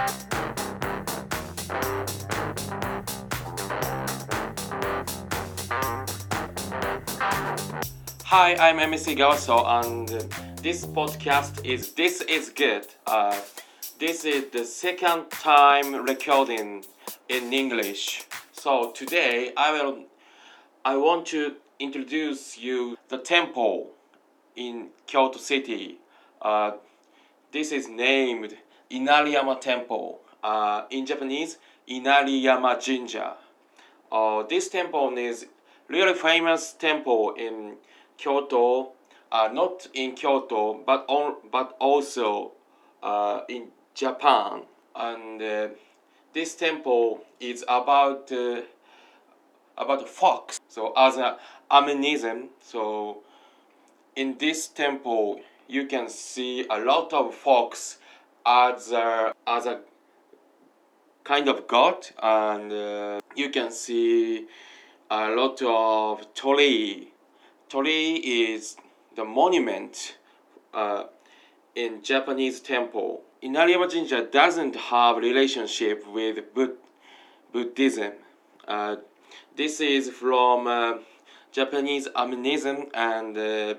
Hi, I'm MC Gawaso, and this podcast is This Is Good. This is the second time recording in English. So today I want to introduce you the temple in Kyoto City. This is named Inariyama Temple. In Japanese, Inariyama Jinja. This temple is really famous temple in Kyoto, not in Kyoto, but also in Japan. And this temple is about fox. So as an animism, so in this temple you can see a lot of fox as a kind of god, and you can see a lot of torii. Torii is the monument in Japanese temple. Inariyama Jinja doesn't have relationship with Buddhism. This is from Japanese animism and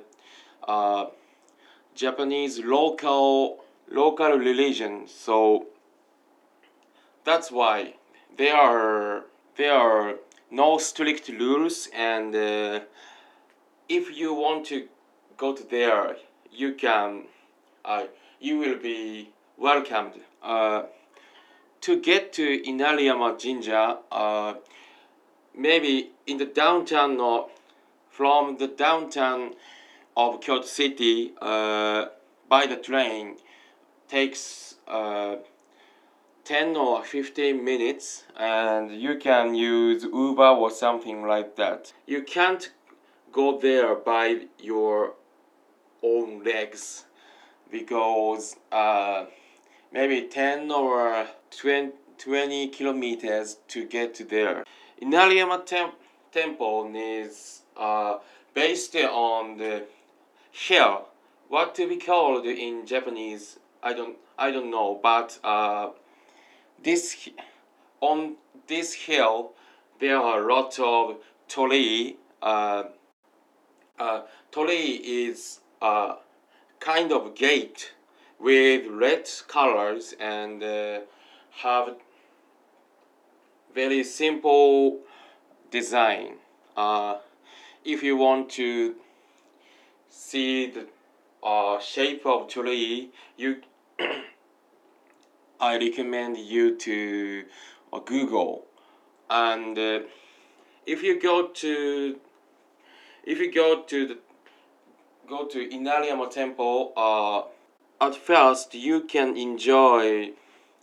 Japanese local religion. So that's why there are no strict rules, and if you want to go to there, you can you will be welcomed. To get to Inariyama Jinja, maybe in the downtown or from the downtown of Kyoto City by the train takes 10 or 15 minutes, and you can use Uber or something like that. You can't go there by your own legs because maybe 10 or 20 kilometers to get to there. Inariyama Temple is based on the hill. What to be called in Japanese, I don't know, but this on this hill there are a lot of torii. Torii is a kind of gate with red colors and have very simple design. If you want to see the shape of torii, I recommend you to Google. And if you go to Inariyama Temple, at first you can enjoy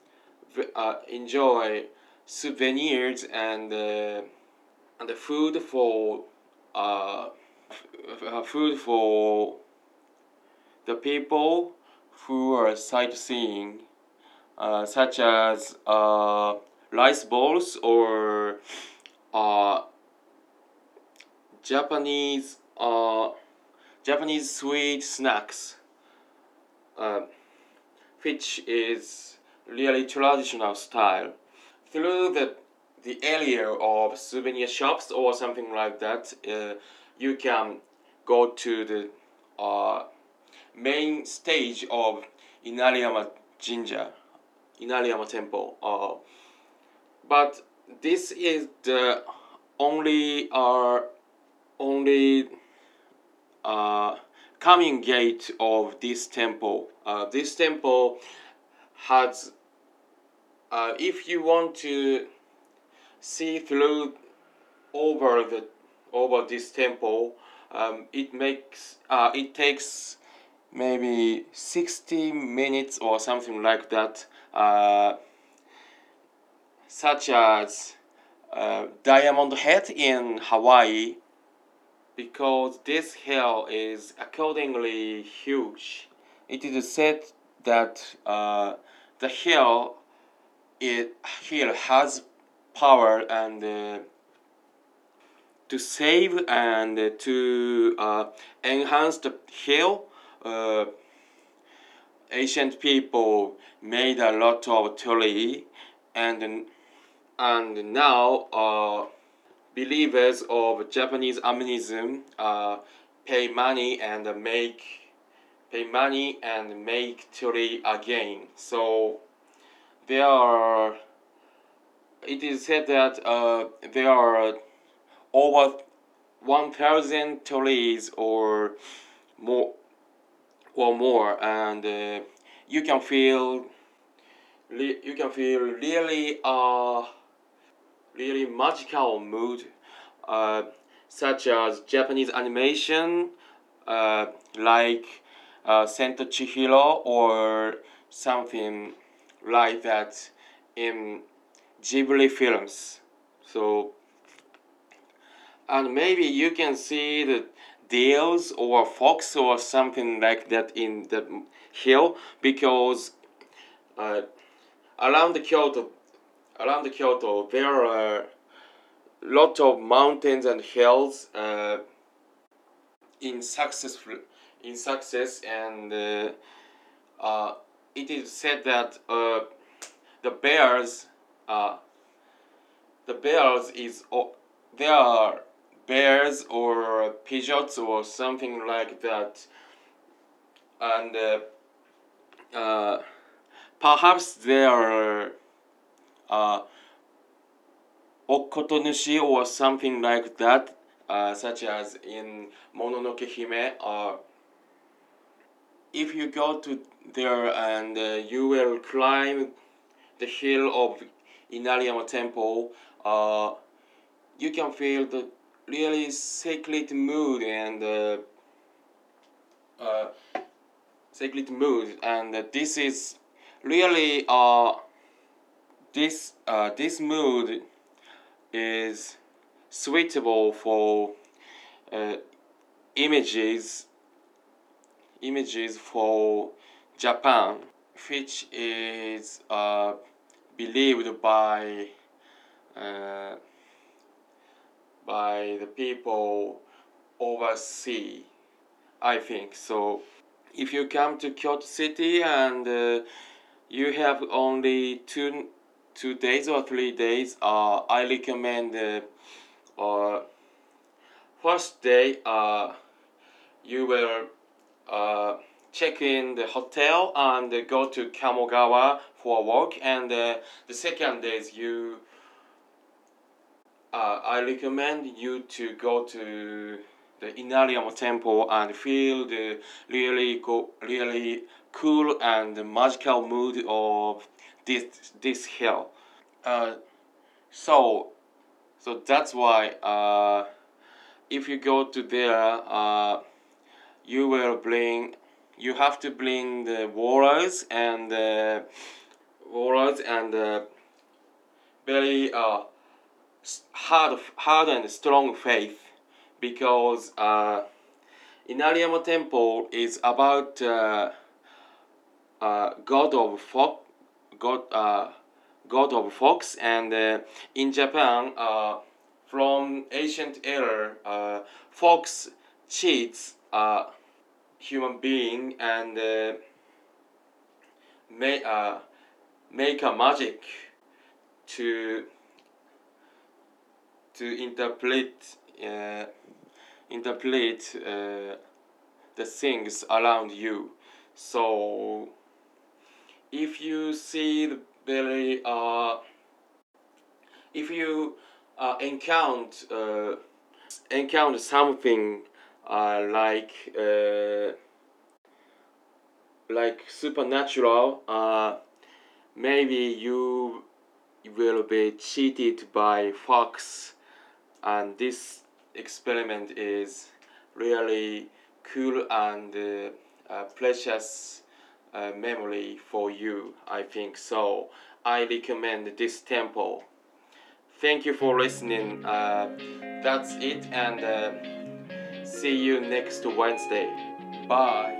souvenirs and the food for the people who are sightseeing, such as rice balls or Japanese sweet snacks, which is really traditional style. Through the area of souvenir shops or something like that, you can go to the main stage of Inariyama Jinja, Inariyama Temple. But this is the only coming gate of this temple. This temple has, if you want to see through over this temple, it takes maybe 60 minutes or something like that, such as Diamond Head in Hawaii, because this hill is accordingly huge. It is said that the hill has power and to save and to enhance the hill. ancient people made a lot of tree, and now believers of Japanese animism pay money and make tree again. So there are. It is said that there are over 1,000 trees or more, and you can feel really magical mood, uh, such as Japanese animation, like Sento Chihiro or something like that in Ghibli films. So, and maybe you can see the deers or fox or something like that in the hill, because uh, around the Kyoto there are a lot of mountains and hills in success, and it is said that the bears uh, the bears is there are bears or pigeons or something like that, and perhaps there are okotonushi or something like that, such as in Mononoke Hime. If you go to there and you will climb the hill of Inariyama Temple, you can feel the really sacred mood and this is really this mood is suitable for uh, images for Japan, which is believed uh, by the people overseas, I think. So if you come to Kyoto City and you have only two days or 3 days, I recommend first day you will check in the hotel and go to Kamogawa for a walk, and the second days I recommend you to go to the Inariyama Temple and feel the really cool and magical mood of this hill. Uh, so that's why if you go to there, you have to bring the walrus and very hard and strong faith, because Inariyama Temple is about god of folk, god of fox, and in Japan, from ancient era, fox cheats human being and make a magic to interpret the things around you. So if you see the very if you encounter something like supernatural, maybe you will be cheated by fox, and this experiment is really cool and precious memory for you, I think. So I recommend this temple. Thank you for listening. That's it, and see you next Wednesday. Bye.